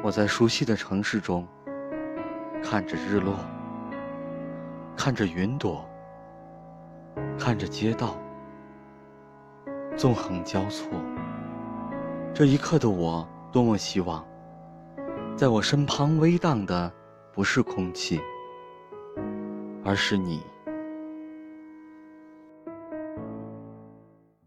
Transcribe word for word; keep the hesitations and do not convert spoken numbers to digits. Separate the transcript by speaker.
Speaker 1: 我在熟悉的城市中，看着日落，看着云朵，看着街道纵横交错。这一刻的我，多么希望，在我身旁微荡的不是空气，而是你。